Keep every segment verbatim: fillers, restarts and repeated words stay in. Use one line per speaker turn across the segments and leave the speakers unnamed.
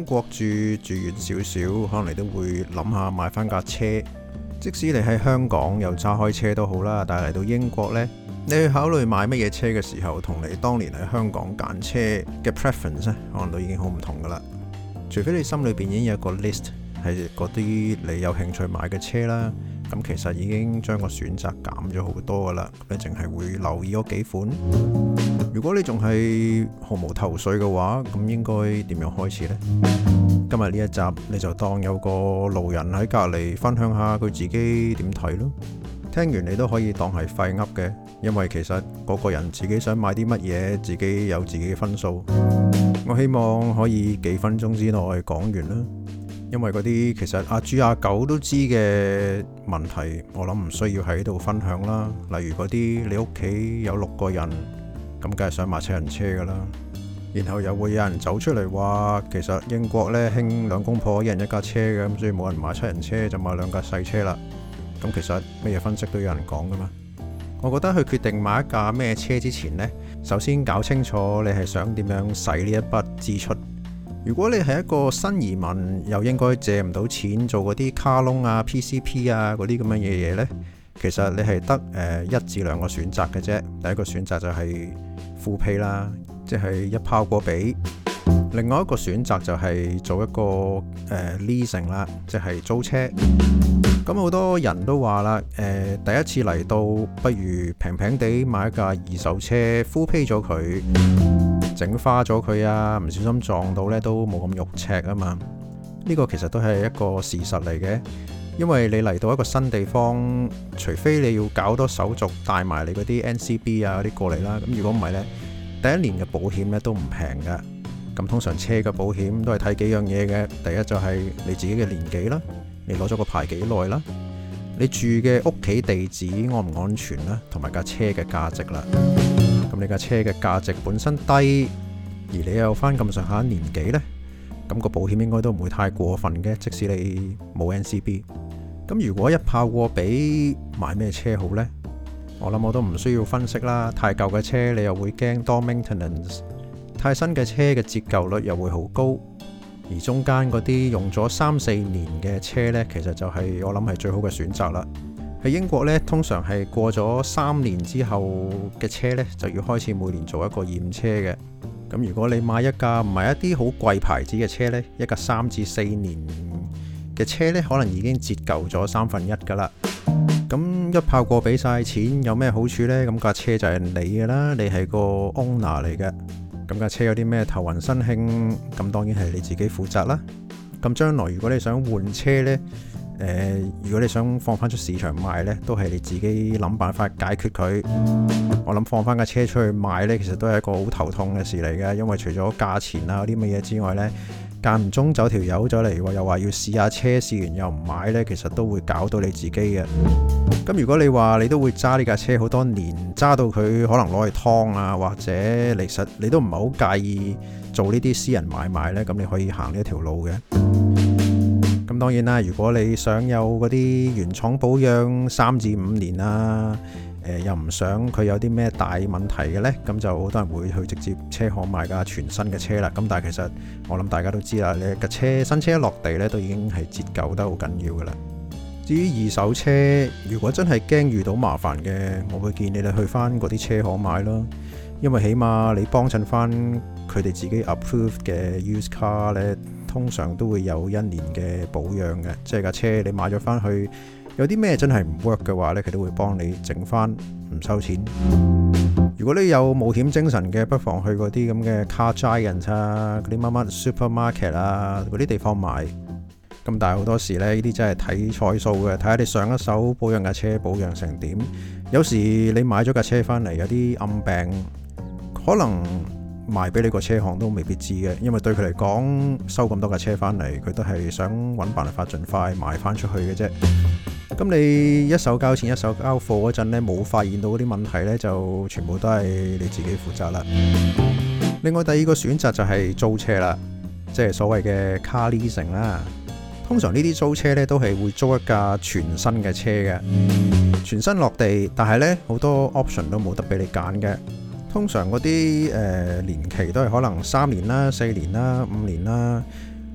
國住住遠少少，可能你都會諗下買翻架車。即使你喺香港又揸開車都好啦，但係嚟到英國呢，你去考慮買乜嘢車嘅時候，同你當年喺香港揀車嘅 preference 咧，可能都已經好唔同噶啦。除非你心裏邊已經有個 list 係嗰啲你有興趣買嘅車啦，咁其實已經將個選擇減咗好多噶啦。你淨係會留意嗰幾款。如果你仲係毫無頭緒嘅話，咁應該點樣開始呢？今日呢一集你就當有個路人喺隔籬分享下佢自己點睇咯。聽完你都可以當係廢噏嘅，因為其實嗰個人自己想買啲乜嘢，自己有自己嘅分數。我希望可以幾分鐘之內講完啦，因為嗰啲其實阿豬阿狗都知嘅問題，我諗唔需要喺度分享啦。例如嗰啲你屋企有六個人，咁梗係想買七人車噶啦，然後又會有人走出嚟話，其實英國呢興兩公婆一人一架車嘅，咁所以冇人買七人車就買兩架細車啦。咁其實乜嘢分析都有人講噶嘛。我覺得去決定買一架咩車之前呢，首先搞清楚你係想點樣使呢一筆支出。如果你係一個新移民，又應該借唔到錢做嗰啲卡窿啊、P C P 啊嗰啲咁樣嘅嘢呢，其實你係得誒一至兩個選擇嘅啫。第一個選擇就係full pay啦，即係一拋過俾。另外一個選擇就係做一個誒、呃、leasing 啦，即係租車。咁好多人都話啦，誒、呃、第一次嚟到，不如平平地買一架二手車 full pay 咗佢，整花咗佢啊，唔小心撞到呢都冇咁肉赤啊嘛。呢、這個其實都係一個事實嚟嘅，因為你嚟到一個新地方，除非你要搞多手續帶埋你嗰啲 N C B 啊嗰啲過嚟啦，咁如果唔係呢，第一年嘅保險呢都唔平噶。咁通常車嘅保險都係睇幾樣嘢嘅，第一就係你自己嘅年紀啦。你攞咗個牌幾耐啦？你住嘅屋企地址安唔安全啦？同埋架車嘅價值啦。咁你架車嘅價值本身低，而你有翻咁上下年紀呢，咁個保險應該都唔會太過分嘅。即使你冇 N C B， 咁如果一炮過俾買咩車好呢？我諗我都唔需要分析啦。太舊嘅車你又會驚多 maintenance， 太新嘅車嘅折舊率又會好高。而中間嗰啲用咗三四年嘅車呢，其實就係我諗係最好嘅選擇啦。喺英國呢，通常係過咗三年之後嘅車呢，就要開始每年做一個驗車嘅。咁如果你買一架唔係一啲好貴牌子嘅車呢，一架三至四年嘅車呢，可能已經折舊咗三分一噶啦。咁一炮過俾晒錢，有咩好處呢？咁架車就係你嘅啦，你係個 owner 嚟嘅。咁架車有啲咩頭暈身興，咁當然係你自己負責啦。咁將來如果你想換車呢，呃、如果你想放翻出市場賣呢，都係你自己諗辦法解決佢。我諗放翻架車出去賣呢，其實都係一個好頭痛嘅事嚟嘅，因為除咗價錢啊嗰啲乜嘢之外呢，間唔中走條友走嚟，又話要試下車，試完又唔買呢，其實都會搞到你自己嘅。咁如果你話你都會揸呢架車好多年，揸到佢可能攞去劏啊，或者其實你都唔係好介意做呢啲私人買賣呢，咁你可以行呢一條路嘅。咁當然啦，如果你想有嗰啲原廠保養三至五年啊，呃、又唔想佢有啲咩大問題嘅呢，咁就好多人會去直接車行買架全新嘅車啦。咁但係其實我諗大家都知啦，你架車新車一落地呢，都已經係折舊得好緊要噶啦。至於二手車，如果真係驚遇到麻煩嘅，我會建議你去翻嗰啲車行買咯，因為起碼你幫襯翻佢哋自己 approve 嘅 used car 呢，通常都會有一年嘅保養嘅，即係架車你買咗翻去，有啲咩真係唔 work 嘅話呢，佢都會幫你整翻，唔收錢。如果你有冒險精神嘅，不妨去嗰啲咁嘅 car giant 啊，嗰啲乜乜 supermarket 啊，嗰啲地方買。咁但係好多時呢，呢啲真係睇彩數嘅，睇下你上一手保養架車保養成點。有時你買咗架車翻嚟有啲暗病，可能賣俾你個車行都未必知嘅，因為對佢嚟講收咁多架車翻嚟，佢都係想揾辦法盡快賣翻出去嘅啫。咁你一手交錢一手交貨嗰陣呢，冇發現到嗰啲問題呢，就全部都係你自己負責啦。另外第二個選擇就係租車啦，即係所謂嘅 car leasing 啦。通常呢啲租車呢都係會租一架全新嘅車嘅，全新落地，但係呢好多 option 都冇得俾你揀嘅。通常嗰啲誒年期都係可能三年啦、四年啦、五年啦。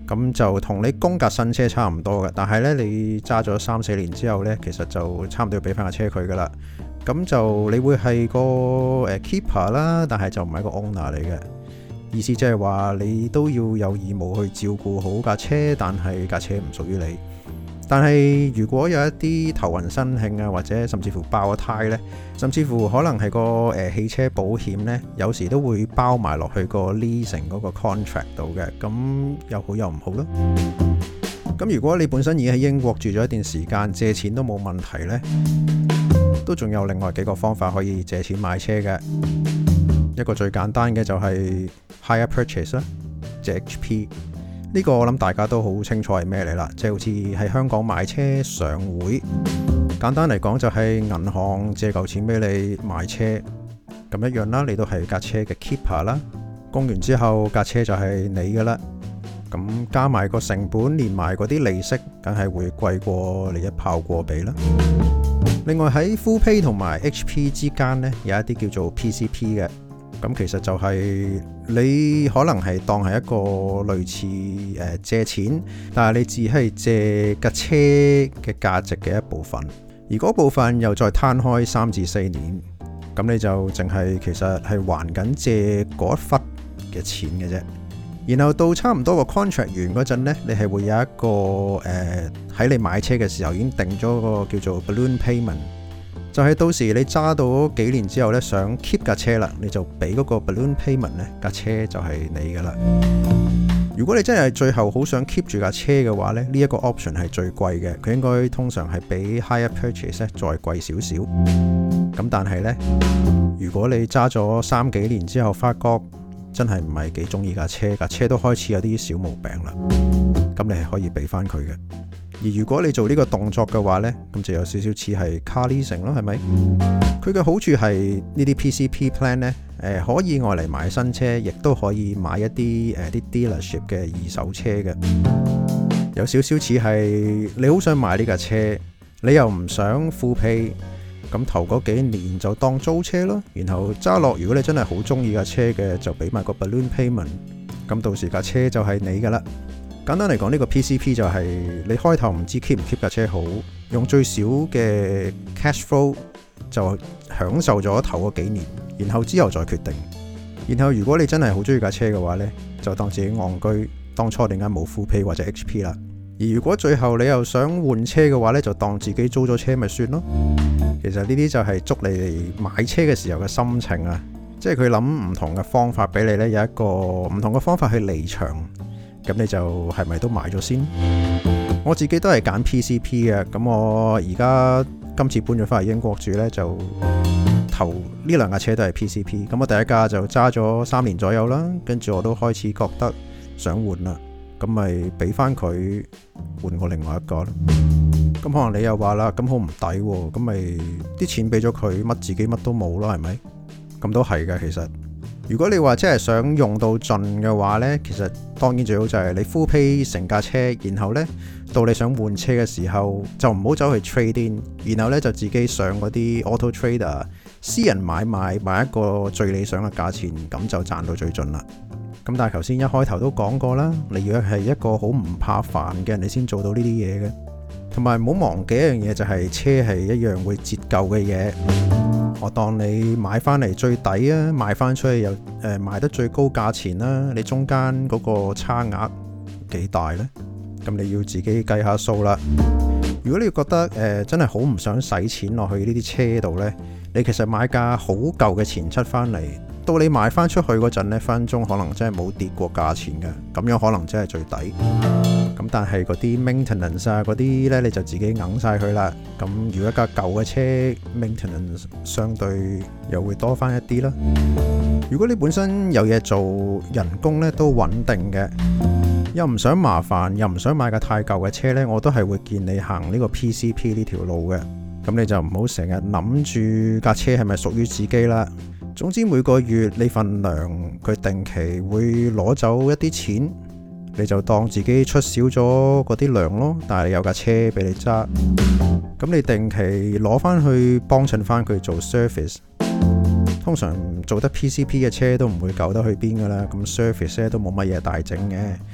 咁就同你供架新車差唔多嘅，但係呢，你揸咗三四年之後呢，其實就差唔多要俾翻架車佢噶啦。咁就你會係個誒 keeper 啦，但係就唔係個 owner 嚟嘅。意思即係話你都要有義務去照顧好架車，但係架車唔屬於你。但係如果有一啲頭暈身㷫啊，或者甚至乎爆咗胎呢，甚至乎可能係個誒、呃、汽車保險呢，有時都會包埋落去個 leasing 嗰個 contract 度嘅，咁又好又唔好咯。咁如果你本身已經喺英國住咗一段時間，借錢都冇問題呢，都仲有另外幾個方法可以借錢買車嘅。一個最簡單嘅就係 hire purchase 啦，即 H P。呢個我諗大家都好清楚係咩嚟啦，即係好似喺香港買車上會，簡單嚟講就係銀行借嚿錢俾你買車，咁一樣啦，你都係架車嘅 keeper 啦，供完之後架車就係你噶啦，咁加埋個成本連埋嗰啲利息，梗係會貴過你一炮過俾啦。另外喺 full pay 同埋 H P 之間呢，有一啲叫做 P C P 嘅。咁其實就係你可能係當係一個類似誒、呃、借錢，但係你只係借架車嘅價值嘅一部分，而嗰部分又再攤開三至四年，咁你就淨係其實係還緊借嗰一忽嘅錢嘅啫。然後到差唔多個 contract 完嗰陣呢，你係會有一個誒喺、呃、你買車嘅時候已經定咗個叫做 balloon payment。就係到時你揸到幾年之後呢，想 keep 架車啦，你就俾嗰個 balloon payment 呢，架車就係你噶啦。如果你真係最後好想 keep 住架車嘅話呢，呢一個 option 係最貴嘅，佢應該通常係比 hire purchase 再貴少少。咁但係呢，如果你揸咗三幾年之後發覺真係唔係幾中意架車，架車都開始有啲小毛病啦，咁你係可以俾翻佢嘅。而如果你做呢個動作嘅話呢，咁就有少少似係 car leasing 咯，係咪？佢嘅好處係呢啲 P C P plan 呢，誒、呃、可以愛嚟買新車，亦都可以買一啲誒啲 dealership 嘅二手車嘅。有少少似係你好想買呢架車，你又唔想 full pay，咁頭嗰幾年就當租車咯，然後揸落。如果你真係好中意架車嘅，就俾埋個 balloon payment，咁到時架車就係你噶啦。簡單嚟講，呢個 P C P 就係你開頭唔知 keep 唔 keep 架車好，用最少嘅 cash flow 就享受咗頭嗰幾年，然後之後再決定。然後如果你真係好中意架車嘅話呢，就當自己戇居，當初點解冇 full pay 或者 H P 啦。而如果最後你又想換車嘅話呢，就當自己租咗車咪算咯。其實呢啲就係捉你哋買車嘅時候嘅心情啊，即係佢諗唔同嘅方法俾你呢，有一個唔同嘅方法去離場。咁你就係咪都買咗先？我自己都係揀 P C P 嘅。咁我而家今次搬咗翻嚟英國住呢，就頭呢兩架車都係 P C P。咁我第一架就揸咗三年左右啦，跟住我都開始覺得想換啦，咁咪俾翻佢換過另外一個咯。咁可能你又話啦，咁好唔抵喎，咁咪啲錢俾咗佢，乜自己乜都冇咯，係咪？咁都係嘅，其實。如果你話真係想用到盡嘅話呢，其實當然最好就係你 full pay 成架車，然後呢，到你想換車嘅時候就唔好走去 trade in， 然後呢，就自己上嗰啲 auto trader 私人買賣買一個最理想嘅價錢，咁就賺到最盡啦。咁但係頭先一開頭都講過啦，你要係一個好唔怕煩嘅人，你先做到呢啲嘢嘅。同埋唔好忘記一樣嘢，就係車係一樣會折舊嘅嘢。我當你買翻嚟最抵啊，賣翻出去又誒、呃、賣得最高價錢啦，你中間嗰個差額幾大呢？咁你要自己計下數啦。如果你覺得誒、呃、真係好唔想使錢落去呢啲車度呢，你其實買架好舊嘅前七翻嚟，到你賣翻出去嗰陣呢，分鐘可能真係冇跌過價錢嘅，咁樣可能真係最抵。咁但係嗰啲 maintenance 啊嗰啲呢，你就自己揞晒佢啦。咁如果一架舊嘅車 maintenance 相對又會多翻一啲啦。如果你本身有嘢做，人工呢都穩定嘅，又唔想麻煩，又唔想買架太舊嘅車呢，我都係會建議你行呢個 P C P 呢條路嘅。咁你就唔好成日諗住架車係咪屬於自己啦。總之每個月你份糧佢定期會攞走一啲錢，你就當自己出少咗嗰啲糧咯，但係有架車俾你揸，咁你定期攞翻去幫襯翻佢做 service。通常做得 P C P 嘅車都唔會舊得去邊噶啦，咁 service 咧都冇乜嘢大整嘅。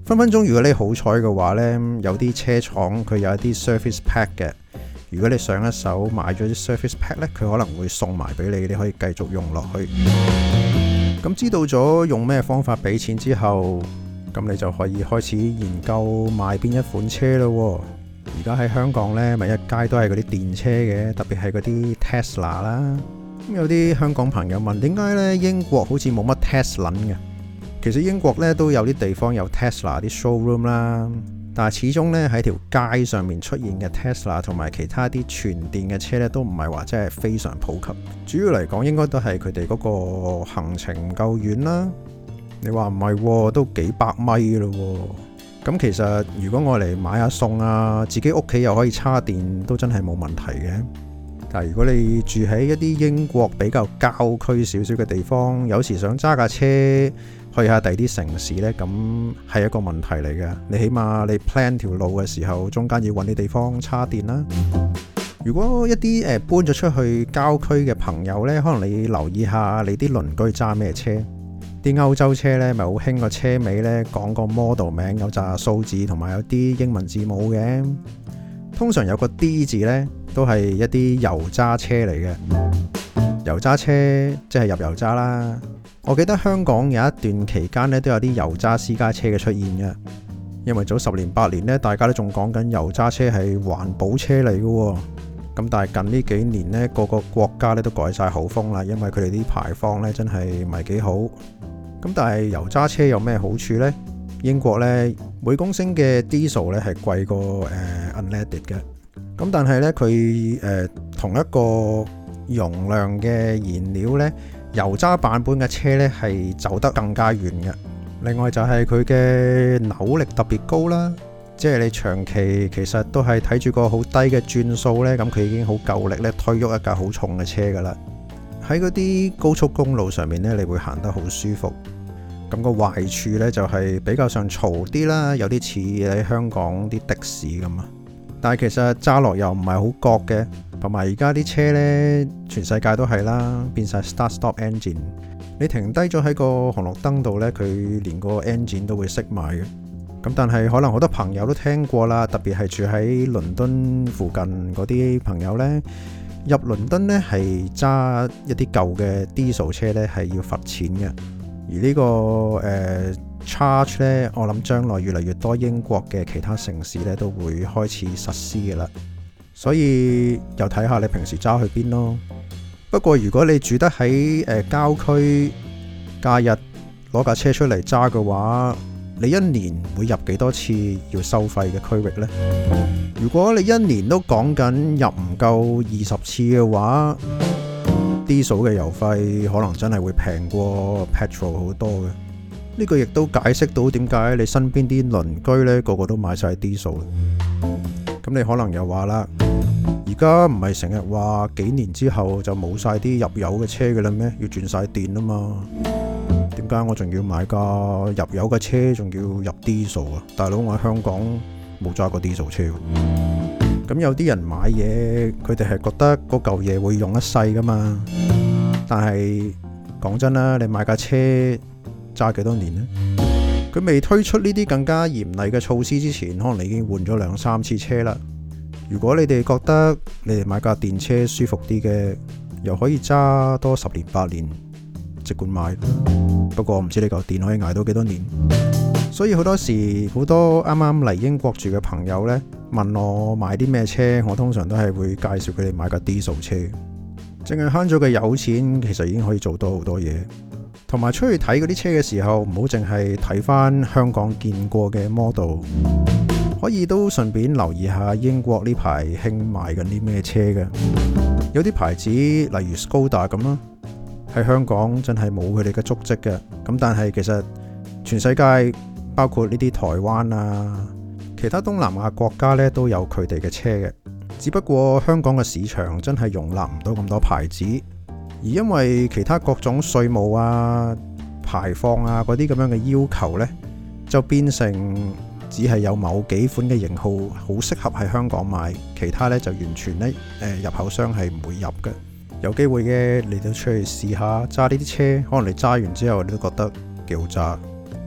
分分鐘如果你好彩嘅話呢，有啲車廠佢有一啲 service pack 嘅。如果你上一手買咗啲 service pack 呢，佢可能會送埋俾你，你可以繼續用落去。咁知道咗用咩方法俾錢之後，咁你就可以開始研究買邊一款車咯。而家喺香港呢，咪一街都係嗰啲電車嘅，特別係嗰啲 Tesla 啦。咁有啲香港朋友問，點解呢英國好似冇乜 Tesla 嘅？其實英國呢都有啲地方有 Tesla 啲 showroom 啦，但係始終呢喺條街上面出現嘅 Tesla 同埋其他啲全電嘅車呢，都唔係話真係非常普及。主要嚟講，應該都係佢哋嗰個行程唔夠遠啦。你話唔係，都幾百米咯。咁其實如果我嚟買下餸啊，自己屋企又可以叉電，都真係冇問題嘅。但係如果你住喺一啲英國比較郊區少少嘅地方，有時想揸架車去下第二啲城市呢，咁係一個問題嚟嘅。你起碼你 plan 條路嘅時候，中間要揾啲地方叉電啦。如果一啲誒搬咗出去郊區嘅朋友呢，可能你留意下你啲鄰居揸咩車。啲歐洲車呢咪好興個車尾呢講個 model 名，有紮數字同埋有啲英文字母嘅。通常有個 D 字呢，都係一啲油渣車嚟嘅。油渣車即係入油渣啦。我記得香港有一段期間呢，都有啲油渣私家車嘅出現嘅。因為早十年八年呢，大家都仲講緊油渣車係環保車嚟嘅。咁但係近呢幾年呢，個個國家呢都改晒口風啦，因為佢哋啲排放呢真係唔係幾好。咁但係油渣車有咩好處呢？英國呢，每公升嘅 diesel 呢係貴過誒、呃、unleaded 嘅。咁但係呢，佢誒、呃、同一個容量嘅燃料呢，油渣版本嘅車呢係走得更加遠嘅。另外就係佢嘅扭力特別高啦，即係你長期其實都係睇住個好低嘅轉數呢，咁佢已經好夠力咧推喐一架好重嘅車噶啦。喺嗰啲高速公路上面呢，你會行得好舒服。咁個壞處呢，就係比較上嘈啲啦，有啲似喺香港啲的士咁啊。但係其實揸落又唔係好覺嘅，同埋而家啲車呢，全世界都係啦，變晒 start-stop engine。你停低咗喺個紅綠燈度呢，佢連個 engine 都會熄埋嘅。咁但係可能好多朋友都聽過啦，特別係住喺倫敦附近嗰啲朋友呢，入倫敦呢係揸一啲舊嘅 diesel 車呢係要罰錢嘅。而呢、這個誒、呃、charge 呢，我諗將來越嚟越多英國嘅其他城市呢都會開始實施嘅啦。所以又睇下你平時揸去邊咯。不過如果你住得喺誒、呃、郊區，假日攞架車出嚟揸嘅話，你一年會入幾多次要收費嘅區域呢？如果你一年都講緊入唔夠二十次嘅話，diesel 嘅油費可能真係會平過 petrol 好多嘅。呢個亦都解釋到點解你身邊啲鄰居呢個個都買晒 diesel。咁你可能又話啦，而家唔係成日話幾年之後就冇晒啲入油嘅車嘅啦咩？要轉晒電啊嘛。點解我仲要買架入油嘅車，仲要入 diesel 啊？大佬，我喺香港冇揸過 diesel 車。咁有啲人買嘢，佢哋係覺得嗰嚿嘢會用一世噶嘛。但係講真啦，你買架車揸幾多年呢？佢未推出呢啲更加嚴厲嘅措施之前，可能你已經換咗兩三次車啦。如果你哋覺得你哋買架電車舒服啲嘅，又可以揸多十年八年，即管買。不過唔知你嚿電可以捱到幾多年。所以好多時好多啱啱嚟英國住嘅朋友呢，問我買啲咩車，我通常都係會介紹佢哋買架 diesel 車。淨係慳咗嘅油錢，其實已經可以做到好多嘢。同埋出去睇嗰啲車嘅時候，唔好淨係睇翻香港見過嘅 model，可以都順便留意下英國呢排興賣緊啲咩車嘅。有啲牌子例如 Skoda 咁啦，喺香港真係冇佢哋嘅足跡嘅。咁但係其實全世界包括呢啲台灣啊，其他東南亞國家呢都有佢哋嘅車嘅。只不過香港嘅市場真係容納唔到咁多牌子，而因為其他各種稅務啊、排放啊嗰啲咁樣嘅要求呢，就變成只係有某幾款嘅型號好適合喺香港買，其他呢就完全呢誒入口商係唔會入嘅。有機會嘅，你都出去試下揸呢啲車，可能你揸完之後你都覺得幾好揸。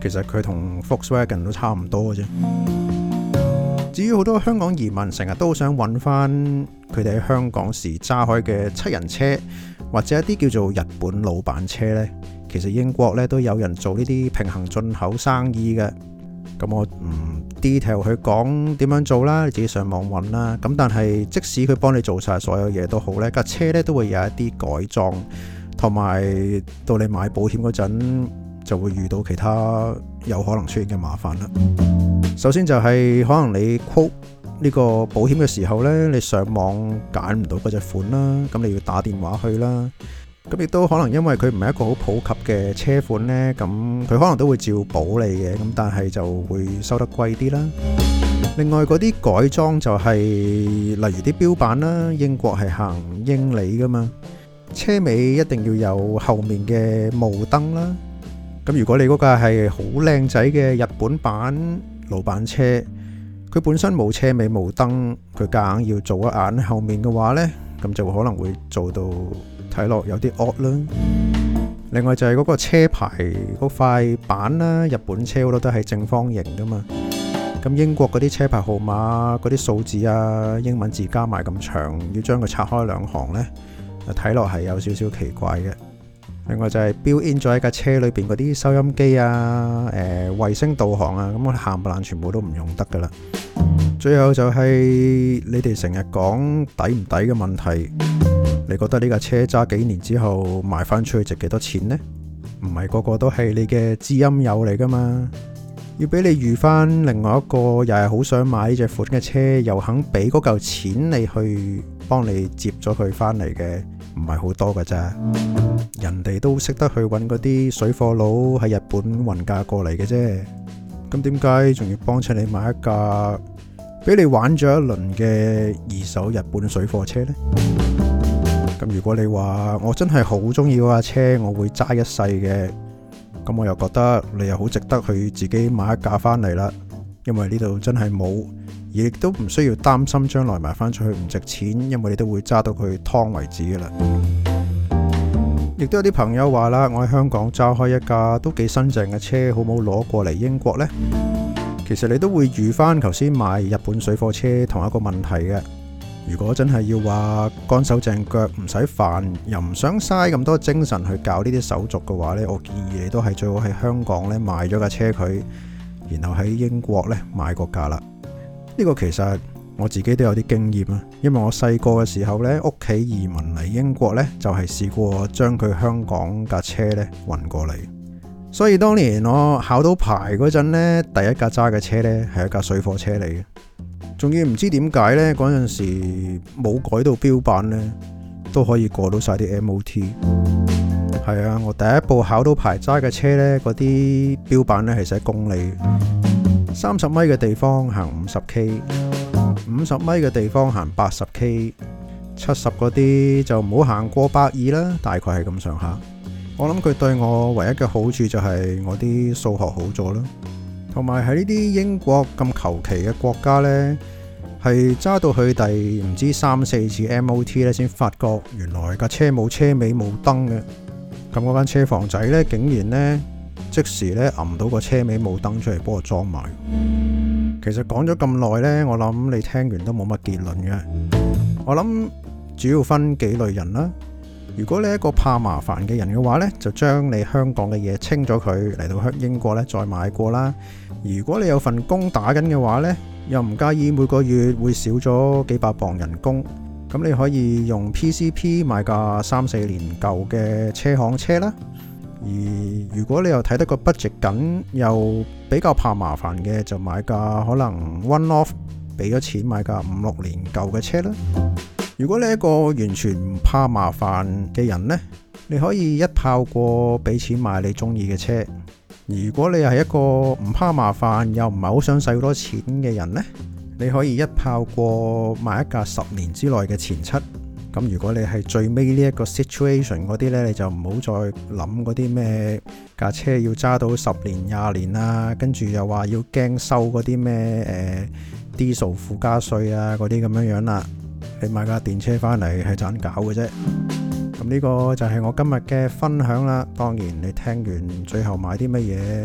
其實佢同 Volkswagen 都差唔多嘅啫。至於好多香港移民成日都想揾翻佢哋喺香港時揸開嘅七人車，或者一啲叫做日本老闆車呢，其實英國呢都有人做呢啲平行進口生意嘅。咁我唔 detail 去講點樣做啦，你自己上網揾啦。咁但係即使佢幫你做晒所有嘢都好呢，架車呢都會有一啲改裝，同埋到你買保險嗰陣就會遇到其他有可能出現嘅麻煩啦。首先就係可能你 quote 呢個保險嘅時候呢，你上網揀唔到嗰隻款啦，咁你要打電話去啦。咁亦都可能因為佢唔係一個好普及嘅車款呢，咁佢可能都會照保你嘅，咁但係就會收得貴啲啦。另外嗰啲改裝就係例如啲標板啦，英國係行英里噶嘛，車尾一定要有後面嘅霧燈啦。咁如果你嗰架係好靚仔嘅日本版老闆車，佢本身冇車尾霧燈，佢夾硬要做一眼後面嘅話呢，咁就可能會做到睇落有啲 odd 啦。另外就係嗰個車牌嗰塊板啦，日本車好多都係正方形噶嘛，咁英國嗰啲車牌號碼嗰啲數字啊，英文字加埋咁長，要將佢拆開兩行呢，睇落係有少少奇怪嘅。另外就係 built in 咗喺架車裏邊嗰啲收音機啊、誒衛星導航啊，咁我冚唪唥全部都唔用得噶啦。最後就係你哋成日講抵唔抵嘅問題，你覺得呢架車揸幾年之後賣翻出去值幾多錢呢？唔係個個都係你嘅知音友嚟噶嘛，要俾你預翻另外一個又係好想買呢隻款嘅車，又肯俾嗰嚿錢你去幫你接咗佢翻嚟嘅，唔係好多噶咋。人哋都識得去揾嗰啲水貨佬喺日本運價過嚟嘅啫，咁點解仲要幫襯你買一架俾你玩咗一輪嘅二手日本水貨車呢？咁如果你話我真係好中意嗰架車，我會揸一世嘅，咁我又覺得你又好值得去自己買一架翻嚟啦，因為呢度真係冇，而亦都唔需要擔心將來賣翻出去唔值錢，因為你都會揸到佢湯為止噶啦。亦都有啲朋友話啦，我喺香港揸開一架都幾新淨嘅車，好冇攞過嚟英國呢？其實你都會遇翻頭先買日本水貨車同一個問題嘅。如果真係要話乾手淨腳唔使煩，又唔想嘥咁多精神去搞呢啲手續嘅話呢，我建議你都係最好喺香港呢買咗架車佢，然後喺英國呢買個價啦。呢個其實我自己都有啲經驗啊，因為我細個嘅時候呢，屋企移民嚟英國呢，就係試過將佢香港架車呢運過嚟。所以當年我考到牌嗰陣呢，第一架揸嘅車呢係一架水貨車嚟嘅，仲要唔知點解呢，嗰陣時冇改到標板呢，都可以過到晒啲 M O T。係啊，我第一部考到牌揸嘅車呢，嗰啲標板呢係寫公里，三十米嘅地方行五十 K， 五十米嘅地方行八十 K， 七十嗰啲就唔好行過百二啦，大概係咁上下。我諗佢對我唯一嘅好處就係我啲數學好咗啦，同埋喺呢啲英國咁求其嘅國家呢，係揸到去第唔知三四次 M O T 咧，先發覺原來架車冇車尾冇燈嘅。咁嗰間車房仔呢，竟然呢即時呢揞到個車尾冇燈出嚟幫我裝埋。其實講咗咁耐呢，我諗你聽完都冇乜結論嘅。我諗主要分幾類人啦。如果你係一個怕麻煩嘅人嘅話呢，就將你香港嘅嘢清咗佢，嚟到英國呢再買過啦。如果你有份工打緊嘅話呢，又唔介意每個月會少咗幾百磅人工，咁你可以用 P C P 買架三四年舊嘅車行車啦。而如果你又睇得個 budget 緊，又比較怕麻煩嘅，就買架可能 one off 俾咗錢買架五六年舊嘅車啦。如果你係一個完全唔怕麻煩嘅人呢，你可以一炮過俾錢買你中意嘅車。如果你係一個唔怕麻煩又唔係好想使好多錢嘅人呢，你可以一炮過買一架十年之內嘅前七。咁如果你係最尾呢一個 situation 嗰啲呢，你就唔好再諗嗰啲咩架車要揸到十年廿年啊，跟住又話要驚收嗰啲咩誒 diesel 附加稅啊嗰啲咁樣樣啦。你買架電車翻嚟係盞搞嘅啫。咁呢個就係我今日嘅分享啦。當然你聽完最後買啲乜嘢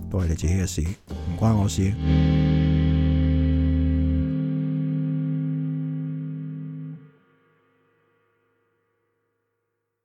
都係你自己嘅事，唔關我事。